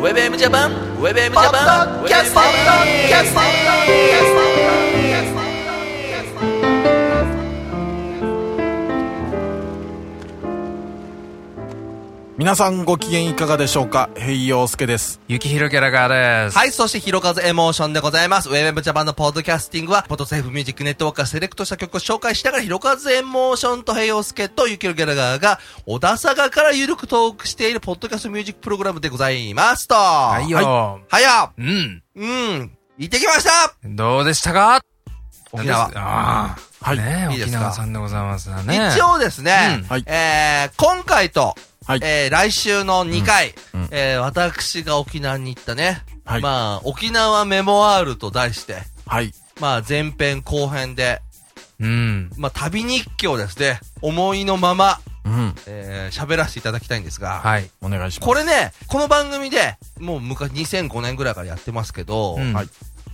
WebM ジャパン WebM ジャパンキャスト皆さんご機嫌いかがでしょうか。ヘイヨウスケです。 ゆきひろギャラガーです。 はい、そしてひろかずエモーションでございます。WebM ジャパンのポッドキャスティングはポッドセーフミュージックネットワークからセレクトした曲を紹介しながらひろかずエモーションとヘイヨウスケとゆきひろギャラガーが小田坂からゆるくトークしているポッドキャストミュージックプログラムでございますと。 はいよ。 はいよ。 うん。 行ってきました。 どうでしたか？ 沖縄。 ああ。 はい。 ね、 いいですか？ 沖縄さんでございますね。 一応ですね、 はい。 今回と、 はい。 来週の2回、 うん私が沖縄に行ったね、 はい。 まあ、沖縄メモワールと題して、 はい。 まあ、前編後編で、 うん。 まあ、旅日記をですね、思いのまま、 うん。 喋らせていただきたいんですが、 はい。 お願いします。 これね、この番組で、もう昔2005年ぐらいからやってますけど、 うんはい。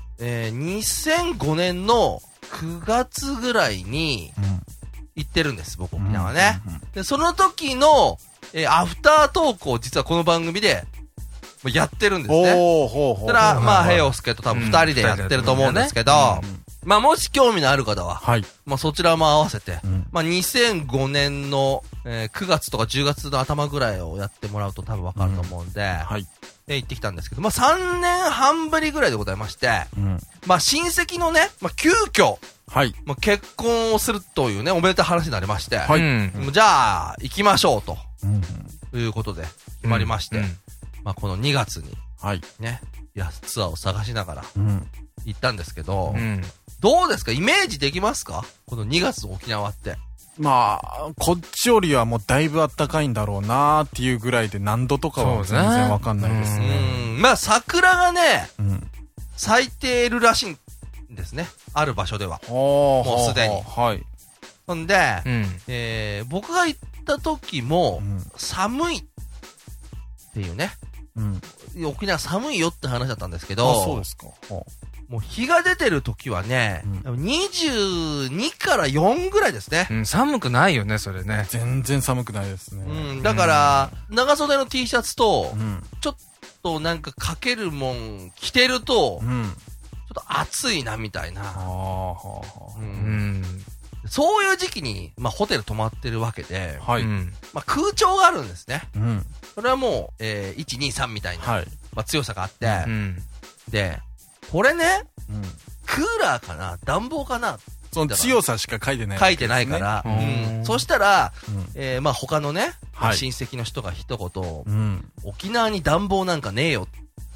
2005年の9月ぐらいに行ってるんです、僕沖縄ね。で、その時の、アフタートークを実はこの番組でやってるんですね。 おー、ほうほう。 それは、まあ、ヘイオス。 スケと多分2人でやってると思うんですけど、まあ、もし興味のある方は、 はい。 まあ、そちらも合わせて、 うんまあ、2005年の、9月とか10月の頭ぐらいをやってもらうと多分わかると思うんで、 はい。 行ってきたんですけど、まあ、3年半ぶりぐらいでございまして、まあ、親戚のね、まあ、急遽、 はい。 まあ、結婚をするというね、おめでたい話になりまして、 はい。 うん。 じゃあ、行きましょうと。 うん。 ということで、決まりまして、 うんまあこの2月にはい。 ね、ツアーを探しながらうん。 行ったんですけど、 うん。 どうですか？イメージできますか？この2月の沖縄って。 まあ、こっちよりはもうだいぶ暖かいんだろうなーっていうぐらいで何度とかは全然わかんないですね。 まあ桜がね、 うん。 咲いているらしいんですね。ある場所では。 ももうすでにはい。 ほんで、 うん。 僕が行った時も、 うん。 寒いっていうね。 うん。 沖縄寒いよって話だったんですけあ、 ど、 そうですか。 もう日が出てる時はね、22から4ぐらいですね。 うん。寒くないよね、それね。 全然寒くないですね。 うん、だから、長袖の T シャツとう、ん。 ちょっとなんかかけるもん着てると、ちょうん。 っと暑いなみたいああ、 な。 はううんん。 そういう時期に、まあホテル泊まってるわけで、 あ。はい。 うん。 まあ空調があるんですね。 うん。 それはもう、1、2、3みたいな、 はい。 まあ強さがあって、 うん。 で、これね、 うん。 クーラーかな暖房かなその強さしか書いてない。 書いてないから、 うんそしたら、 うん。 まあ他のね、 はい親戚の人が一言、 うん。 沖縄に暖房なんかねえよ。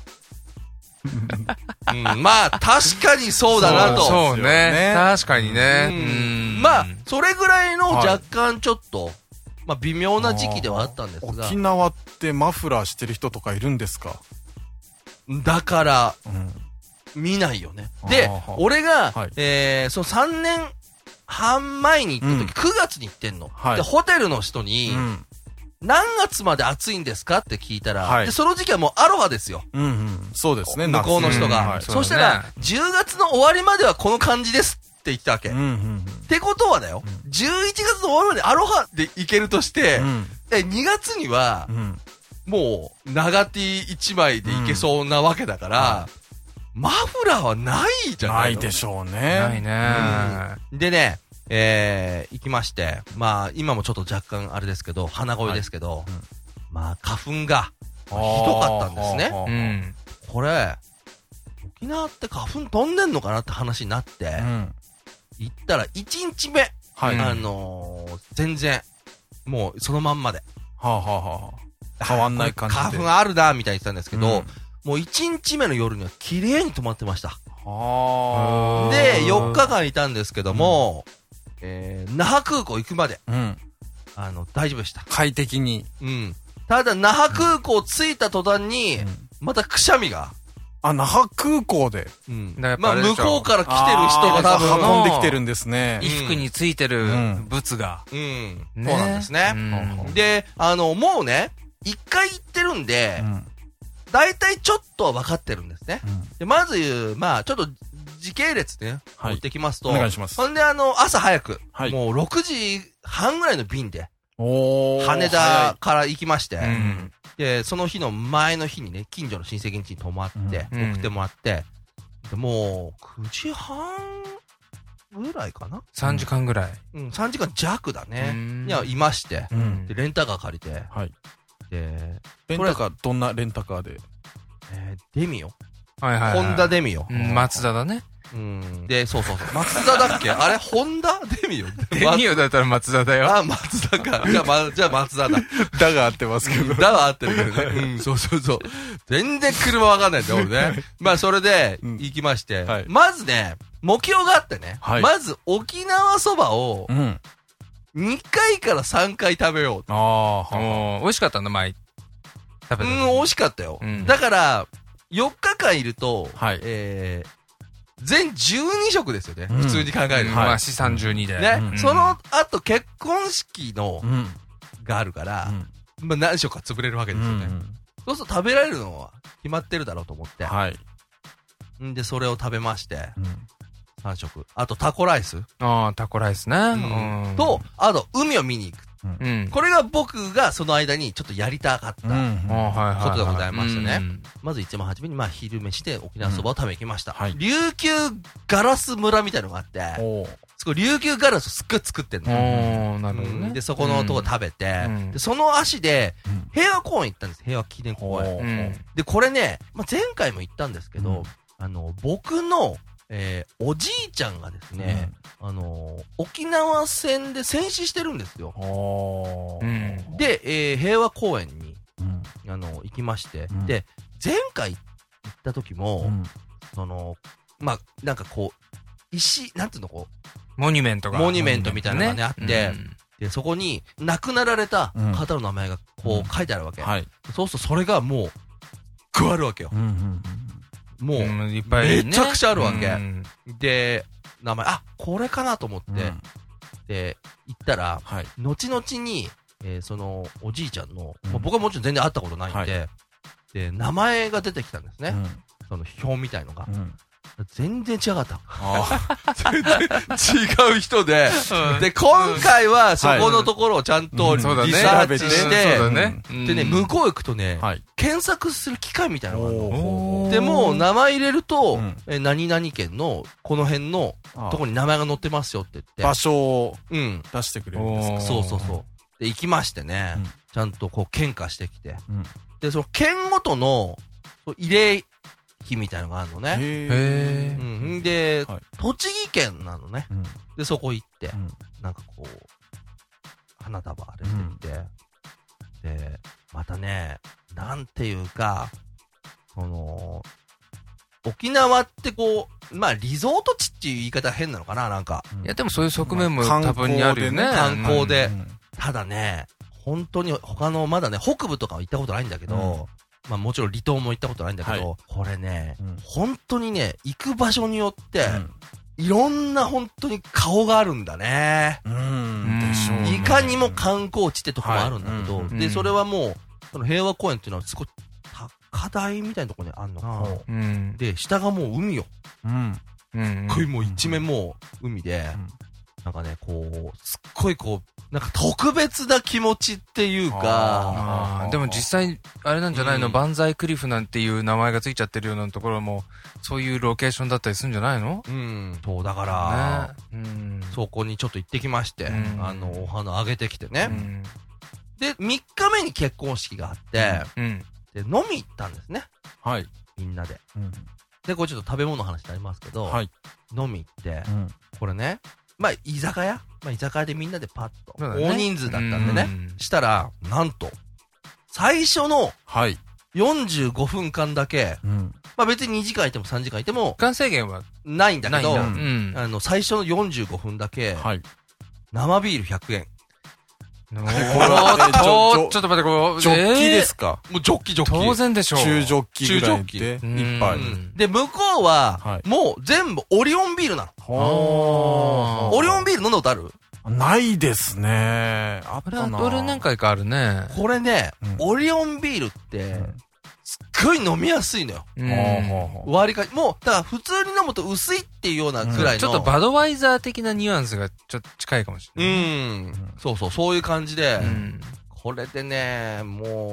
まあ確かにそうだなと。 そうねね。確かにね。 うんまあ、それぐらいの若干ちょっと、まあ微妙な時期ではあったんですが。 沖縄ってマフラーしてる人とかいるんですか？ だから、 うん。 見ないよね。であー、 俺が、 はいその3年半前に行った時、 うん 9月に行ってんの。 はいで、ホテルの人に、 うん。 何月まで暑いんですかって聞いたら、 はいで、その時期はもうアロハですよ。 うんうん。そうですね。 向こうの人が。 夏うんはいそしたら、10月の終わりまではこの感じですって言ったわけ。 うんうんってことはだよ、11月の終わりまでアロハで行けるとして、 うん。 2月にはう、ん。 もう、長 T 1枚で行けそうなわけだから、マフラーはないじゃないのないでしょうね。 ないね。 でね、行きまして、まあ、今もちょっと若干あれですけど、鼻声ですけど、 うんまあ、花粉が、ひどかったんですね。 うん。 これ、沖縄って花粉飛んでんのかなって話になって、 うん。 行ったら1日目、 はい。 うん全然、もうそのまんまで。 はあはあはあ。変わんない感じで。 花粉あるな、みたいに言ってたんですけど、 うんもう1日目の夜には綺麗に泊まってました。 はあ。 で、4日間いたんですけども、那覇空港行くまで、 うん。 大丈夫でした。 快適に。 うん。ただ、那覇空港着いた途端に、またくしゃみが。 あ、那覇空港で。 うん。 だからやっぱまあ、 あれでしょ向こうから来てる人が多分、 運んできてるんですね。 衣服についてるうん物が。 うん。そうねなんですね。 うんで、もうね、1回行ってるんでう、ん。 大体ちょっとは分かってるんですね。 うんで、まず、まあ、ちょっと、時系列ね、 はい持ってきますと、 お願いしますほんで、朝早く、 はいもう6時半ぐらいの便で、 おー。 羽田から行きまして、 うんで、その日の前の日にね、近所の親戚ん家に泊まって、送ってもらって、でもう、9時半ぐらいかな ?3 時間ぐらい。 3時間弱だね。いや、いまして、で、レンタカー借りて、で、 レンタカー、どんなレンタカーで？ デミオ。 はいはい。 ホンダデミオ。 マツダだね。 で、そう。マツダだっけあれホンダデミオデミオだったらマツダだよ。 あ、マツダか。じゃあマツダだ。 だが合ってますけど。 だは合ってるけどね。そう。全然車わかんないんだよ、俺ね。まあ、それで、行きまして。まずね、目標があってね。まず、沖縄そばを、2回から3回食べよう。 美味しかったんだ、前。 美味しかったよ。だから、4日間いると、全12食ですよね。普通に考えると。 まあ、資産12で。 ね。その後、結婚式の、があるから、まあ何食か潰れるわけですよね。そうすると食べられるのは決まってるだろうと思って。で、それを食べまして、3食。あと、タコライス。 タコライスね。 と、あと、海を見に行く。これが僕がその間にちょっとやりたかったことでございましたね。まず一番初めに昼飯で沖縄そばを食べに行きました。琉球ガラス村みたいなのがあって、そこ琉球ガラスをすっごい作ってんの。 なるほどね。 で、そこのとこ食べて、で、その足で平和公園行ったんです。平和記念公園。で、これね、前回も行ったんですけど、僕のおじいちゃんがですね、沖縄戦で戦死してるんですよ。で、平和公園に、行きまして、で、前回行った時も、なんかこう、なんていうのモニュメントみたいなのがね、あって、で、そこに亡くなられた方の名前がこう書いてあるわけ。そうするとそれがもう、加わるわけよ。もう、めちゃくちゃあるわけ。で、名前、これかなと思って、で、行ったら、後々に、その、おじいちゃんの、僕はもちろん全然会ったことないんで、で、名前が出てきたんですね。その表みたいのが。全然違かった。全然違う人で、で、今回はそこのところをちゃんとリサーチして、でね、向こう行くとね、検索する機械みたいなのがあるの。で、もう名前入れると、何々県のこの辺のとこに名前が載ってますよって言って。 場所を出してくれるんですか？ そう。で、行きましてね、ちゃんとこう献花してきて。で、その県ごとの慰霊碑みたいなのがあるのね。で、栃木県なのね。で、そこ行って、なんかこう、花束あれしてきて、で、またね、なんていうか、沖縄ってこう、リゾート地っていう言い方変なのかな、なんか。 いや、でもそういう側面も多分にあるよね。 観光で。ただね、本当に他の、まだね、北部とかは行ったことないんだけど、もちろん離島も行ったことないんだけど、これね、本当にね、行く場所によって、いろんな本当に顔があるんだね。 でしょうね。 いかにも観光地ってとこもあるんだけど、で、それはもう、その平和公園っていうのはすごい高台みたいなところにあるのかな。で、下がもう海よ。これもう一面もう海で、なんかね、こう、すっごいこう、なんか特別な気持ちっていうか、 でも実際、あれなんじゃないの、万歳クリフなんていう名前がついちゃってるようなところも、そういうロケーションだったりするんじゃないの？ そう、だから、そこにちょっと行ってきまして、お花あげてきてね。で、3日目に結婚式があって、で、飲み行ったんですね。みんなで。で、これちょっと食べ物の話になりますけど、飲み行って、これね、居酒屋でみんなでパッと。大人数だったんでね。したら、なんと、最初の、45分間だけ、別に2時間いても3時間いても、 時間制限はないんだけど、最初の45分だけ、生ビール100円。 ちょっと待って、 ジョッキですか？ もうジョッキ。 当然でしょう。 中ジョッキぐらいで、一杯。 で、向こうは、もう全部オリオンビールなの。オリオンビール飲んだことある？ ないですね。あったな。 俺何回かあるね。 これね、オリオンビールって、すっごい飲みやすいのよ。割りかし、もう、だから普通に飲むと薄いっていうようなくらいの。 ちょっとバドワイザー的なニュアンスがちょっと近いかもしれない。 そういう感じで、これでね、もうす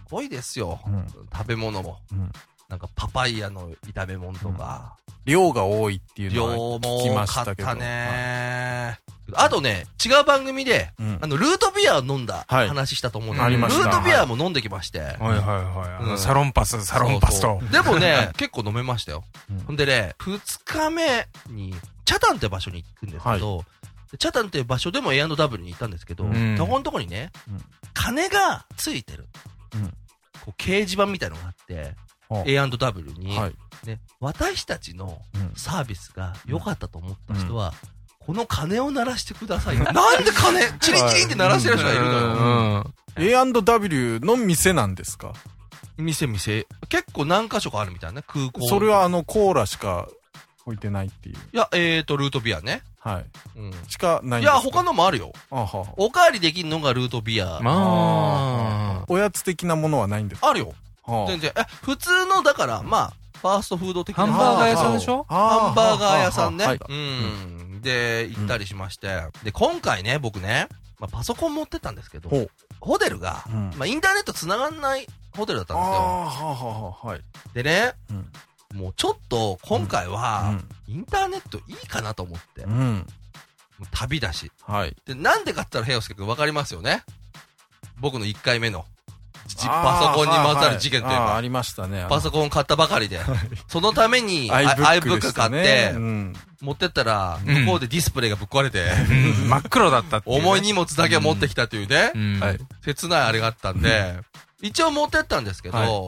ごいですよ。 うん食べ物も。 うんなんかパパイヤの炒め物とか。 量が多いっていうの量はも聞きまし多かたけど。 ったね。あとね、違う番組で、 うんルートビアを飲んだはい話したと思うんだあけど、ルりましたートビアも飲んできまして。 はいはいはい。 うんサロンパスと。 そうそうでもね、結構飲めましたよ。 うんほんでね、2日目に、チャタンって場所に行くんですけど、でチャタンって場所でも A&W に行ったんですけど、 んそこのとこにね、 うん金がついてる。 うんこう掲示板みたいのがあって、 は A&W に、 はい。 ね、私たちのうんサービスが良かったと思った人は、この鐘を鳴らしてください。なんで鐘、チリチリって鳴らしてる人がいるのよ。 A&W の店なんですか？ 店。結構何箇所かあるみたいな、空港。 それはコーラしか置いてないっていう。 いや、ルートビアね。 はい。 うん。 しかないんですか？ いや、他のもあるよ。 あはおかわりできるのがルートビア。 まあ。 おやつ的なものはないんですか？ あるよ。 は全然。普通の、だから、まあ、ファーストフード的な。 ハンバーガー屋さんでしょ？ ハンバーガー屋さんね。 はい。 うん。で、行ったりしまして。で、今回ね、僕ね、まあ、パソコン持ってったんですけどほう、 ホテルが、 うんまあ、インターネット繋がんないホテルだったんですよ。 ああ、ははい。 でね、 うん。 もうちょっと、今回は、インターネットいいかなと思って。もううん。 旅だし。 はい。 で、なんでかって言ったら、平洋介くんわかりますよね？僕の1回目の、 あーパソコンにまつわる事件というかはいはいありましたね。 パソコン買ったばかりで、そのために iBook で iBook したね買ってう、ん。 持ってったら、向こうでディスプレイがぶっ壊れて、 真っ黒だったっていうね。 重い荷物だけは持ってきたというね、 うん。 はい。 切ないあれがあったんで、一応持ってったんですけど、 はい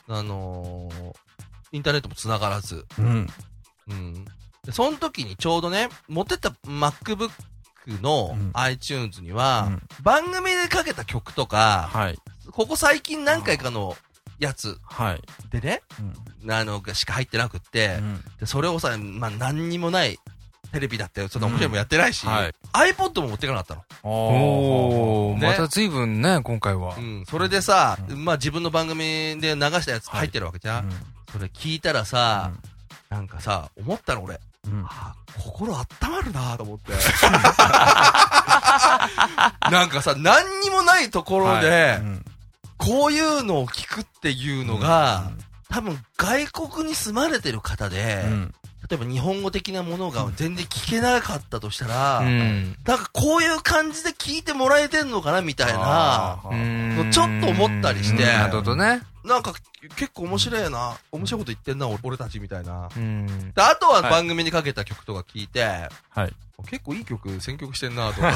インターネットも繋がらず、 うん。 うん。でその時にちょうどね、持ってった MacBook のうん iTunes には、 うん番組でかけた曲とか、 はい。 ここ最近何回かのやつはい。 でね、しか入ってなくって、でそれをさ、まあ、何にもないテレビだって、そんな面白いもんやってないし、 はい。 iPod も持ってかなかったの。 おー、 ねまた随分ね、今回はう。ん。それでさ、 うまあ、自分の番組で流したやつ入ってるわけじゃん。それ聞いたらさ、なんかさ、思ったの俺。 うん。 あ心温まるなと思って。なんかさ、何にもないところで、こういうのを聞くっていうのが、多分外国に住まれてる方で、例えば日本語的なものが全然聞けなかったとしたら、 うん。 なんかこういう感じで聞いてもらえてんのかなみたいな、ちょっと思ったりしてなるほどね。 なんか結構面白いな、面白いこと言ってんな、俺たちみたいな。 うん。 であとは番組にかけた曲とか聞いて、 はい。 結構いい曲選曲してんなと思って。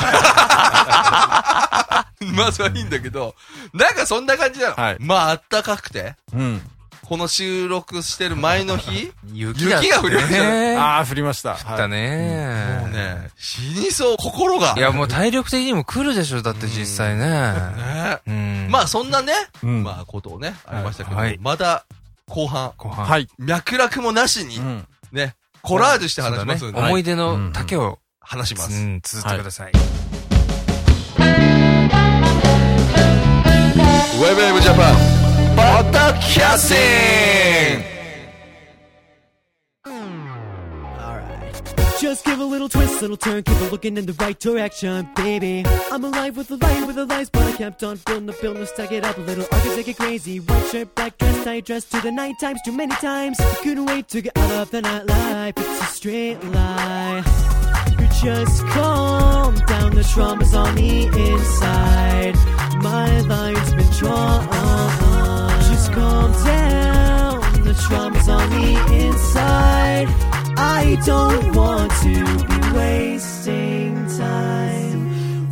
まあそれはいいんだけど、なんかそんな感じなの。 はいまああったかくて、 うん。 この収録してる前の日、 雪が降りましたね。 ああ、降りました。 だね。 もうね、死にそう、心が。 いや、もう体力的にも来るでしょ、だって実際ね。 ねうん。 まあそんなね、 うんまあことをね、ありましたけど、 はいまだ後半、 後半。 はい。 脈絡もなしにう、ん。 ね、コラージュして話しますんで、 思い出の丈を、 話します。 うん、綴ってください。 ウェブウェブジャパン、ポッドキャスティング Just give a little twist, little turn, keep it looking in the right direction, baby. I'm alive with the lights, but I kept on building, stack it up a little, I could take it crazy. White shirt, black dress, tight dress to the night times, too many times. Couldn't wait to get out of the nightlife, it's a straight lie. You just calm down, the trauma's on the inside. My line's been drawn. Just calm down, the trauma's on the inside. I don't want to be wasting time.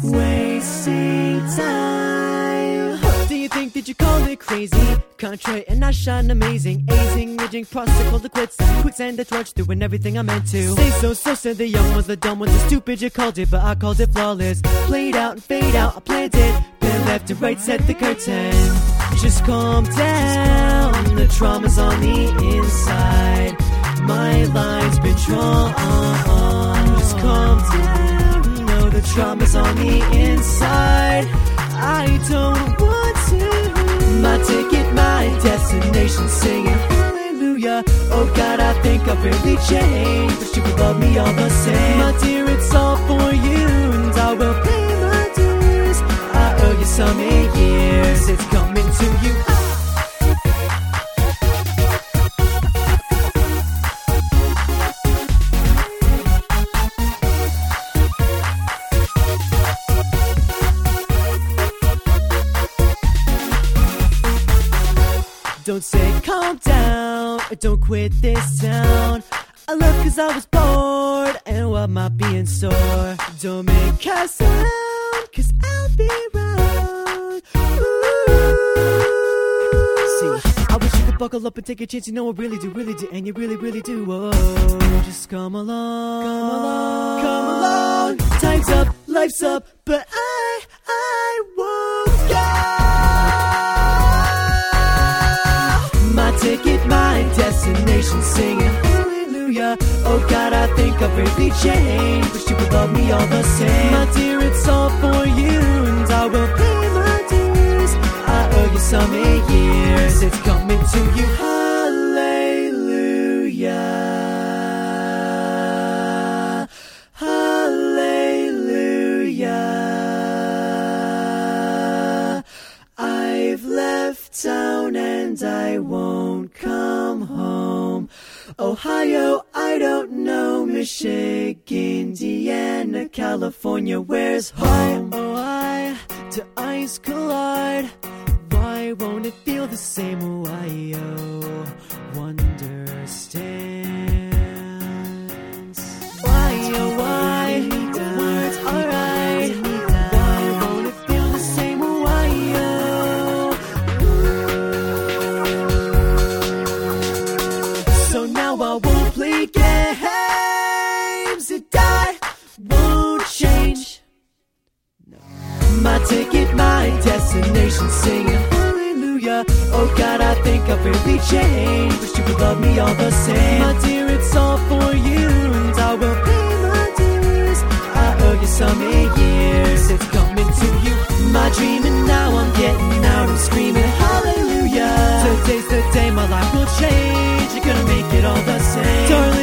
Do you think that you call it crazy? Contrary and I shine amazing. Azing, ridging, process, called the quits. Quicksand, the torch, doing everything I meant to. Say so, said the young ones, the dumb ones, the stupid you called it, but I called it flawless. Played out and fade out, I planned it. Been left to right, set the curtain. Just calm down, the trauma's on the inside. My line's been drawn. Just calm down. No, the trauma's on the inside. I don't want to. My ticket, my destination, singing hallelujah. Oh God, I think I've really changed, but you will love me all the same. My dear, it's all for you, and I will pay my dues. I owe you so many years. It's coming to you. Don't say calm down, or don't quit this town. I left cause I was bored, and what am I being sore? Don't make a sound, cause I'll be round. See, I wish you could buckle up and take a chance, you know I really do, and you really, really do. Oh, just come along, come along. Time's up, life's up, but I won't go. My ticket, my destination, singing hallelujah. Oh God, I think I've really changed, but you would love me all the same. My dear, it's all for you, and I will pay my dues. I owe you so many years, it's coming to you. Hallelujah, hallelujah. I've left town and I won't come home. Ohio, I don't know. Michigan, Indiana, California, where's home? Why do eyes collide? Why won't it feel the same? Ohio, wonderstands. Why, oh why, the words are right. Why won't it feel the same? Ohio. So now I won't play games that I won't change. No. My ticket, my destination, singing hallelujah. Oh God, I think I've really changed, but you would love me all the same. My dear, it's all for you, and I will pay my dues. I owe you so many years, it's coming to you. My dream, and now I'm getting out and screaming hallelujah. Today's the day my life will change, you're gonna make it all the same. Darling,